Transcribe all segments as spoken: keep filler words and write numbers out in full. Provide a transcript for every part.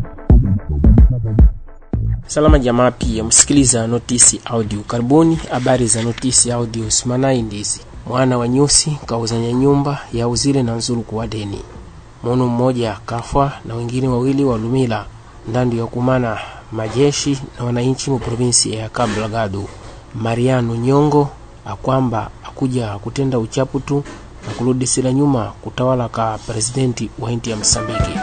Salama jamaa, pia msikiliza Notisi Audio. Karibuni habari za Notisi Audio simana indizi. Mwana wa Nyusi kauzanya nyumba ya uzile na nzuru kwa deni. Mono mmoja kafwa na wengine wawili walumila ndani ya kumana majeshi na wananchi mu provinsi ya Cabo Delgado. Mariano Nyongo akwamba akuja kutenda uchapu tu na kurudi sila nyuma kutawala ka presidenti wa inti ya Msambiki.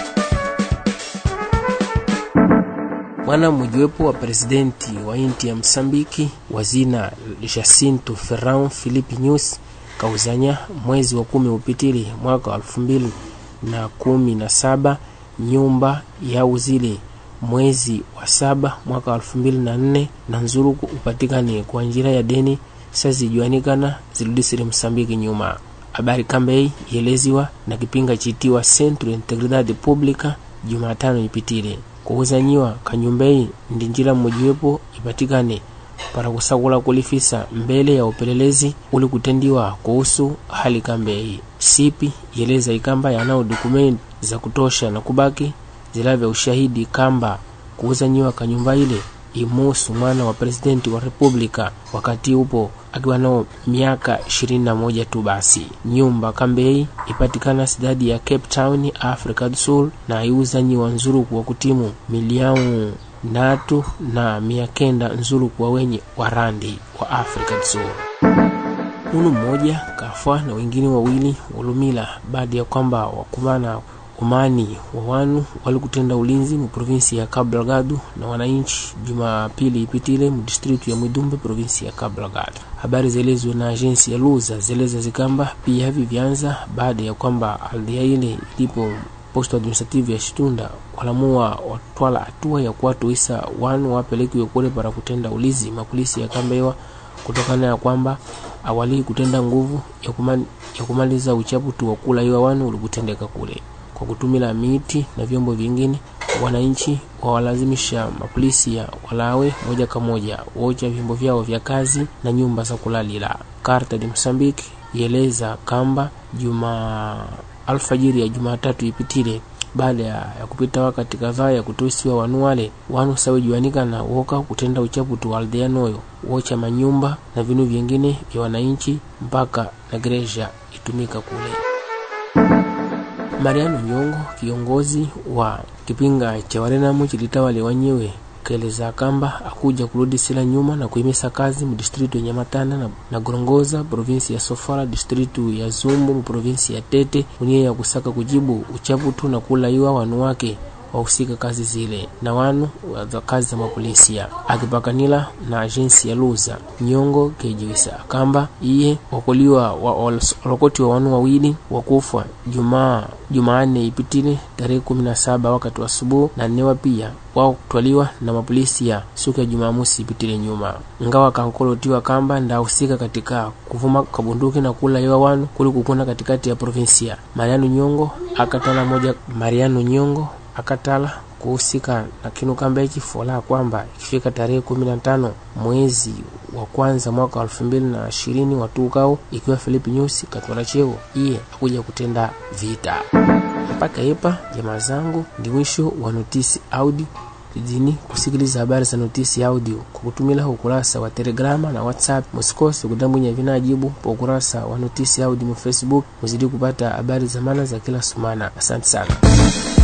Mwana mmojawapo wa presidenti wa inti ya Msambiki wazina Jacinto Ferrão Filipe Nyusi kauzanya mwezi wa kumi upitili mwaka elfu mbili na kumi na saba nyumba ya uzile mwezi wa saba mwaka elfu mbili na nne na nzuruku upatikane kwa njira ya deni sazi juanikana ziludisiri Msambiki nyuma. Habari kambei yeleziwa na kipinga chitiwa Centro Integridade Pública Jumatano ipitile. Kuhuzanyiwa kanyumbei ndi njira mmojawapo ipatikane para kusakula kulifisa mbele ya upelelezi uli kutendiwa kuhusu hali kambei. Sipi yeleza ikamba yanao dokumenti za kutosha na kubaki zilavya ushahidi kamba kuhuzanyiwa kanyumba ile imusu mwana wa presidenti wa republika wakati upo akiwa nao miaka ishirini na moja tu basi. Nyumba kambei ipatikana sidadi ya Cape Town, Afrika du Sul, na iuzanyiwa nzuru kwa kutimu milioni natu na miakenda nzuru kwa wenye warandi wa Afrika du Sul. Munu mmoja kafwa na wengine wawili ulumila baada ya kwamba wakumana umani wa wanu walikutenda ulinzi mu provinsi ya Cabo Delgado na wananchi Jumapili ipitile mu district ya Mwidumbe provinsi ya Cabo Delgado. Habari zelezwe na agensi ya Luza zeleza zikamba pia hivi vyanza baada ya kwamba aldia ile ilipo posto administrative ya Shitunda walamua watwala hatua ya kuwatuisa wanu wapelekiwe kule para kutenda ulinzi mapolisi ya Kambewa kutokana na kwamba awali kutenda nguvu ya, kumali, ya kumaliza uchapu tu wa kula hiyo wanu ulikutendeka kule. Kwa kutumila miti na vyombo vingine, wananchi wawalazimisha mapolisi ya walawe moja kwa moja wocha vyombo vyao vya kazi na nyumba za kulalila. Karta di Msambiki yeleza kamba juma alfajiri ya Jumatatu ipitile baada ya, ya kupita wakati kadhaa ya kutusiwa wanu wale wanu sawe juanika na woka kutenda uchapu tu aldea noyo wocha manyumba na vinu vingine vya wananchi mpaka na gereja itumika kule. Mariano Nyongo, kiongozi wa kipinga cha Warenamu chilitawale wanyewe, kaeleza kamba akuja kurudi sila nyuma na kuhimisa kazi mu distritu ya Nyamatana na, na Gorongosa provinsi ya Sofala, distritu ya Zumbu mu provinsi ya Tete, unie ya kusaka kujibu uchaputu na kula iwa wanu wake wahusika kazi zile na wanu wa kazi za mapolisia. Akipakanila na agensi ya Luza, Nyongo kejiwisa kamba iye wakuliwa walokoti wa wanu wawili wakufwa Jumaa Jumaane ipitile tarehe kumi na saba wakati wa asubuhi na newa pia wao kutwaliwa na mapolisia siku ya Jumamosi ipitile nyuma. Ngawa kankolotiwa kamba ndahusika katika kuvuma kabunduki na kula iwa wanu kuli kukuna katikati ya provinsia. Mariano Nyongo akatala moja Mariano Nyongo akatala kuhusika na kinu kamba ikifola kwamba ikifika tarehe kumi na tano mwezi wa kwanza mwaka elfu mbili na ishirini watukao ikiwa Filipe Nyusi katwala cheo iye akuja kutenda vita. Mpaka hapa jamaa zangu ndi mwisho wa Notisi Audio. Tidini kusikiliza habari za Notisi Audio kwa kutumila ukurasa wa Telegrama na WhatsApp. Musikose kudambunya vinajibu kwa ukurasa wa Notisi Audio mu Facebook. Muzidi kupata habari za maana za kila sumana. Asante sana.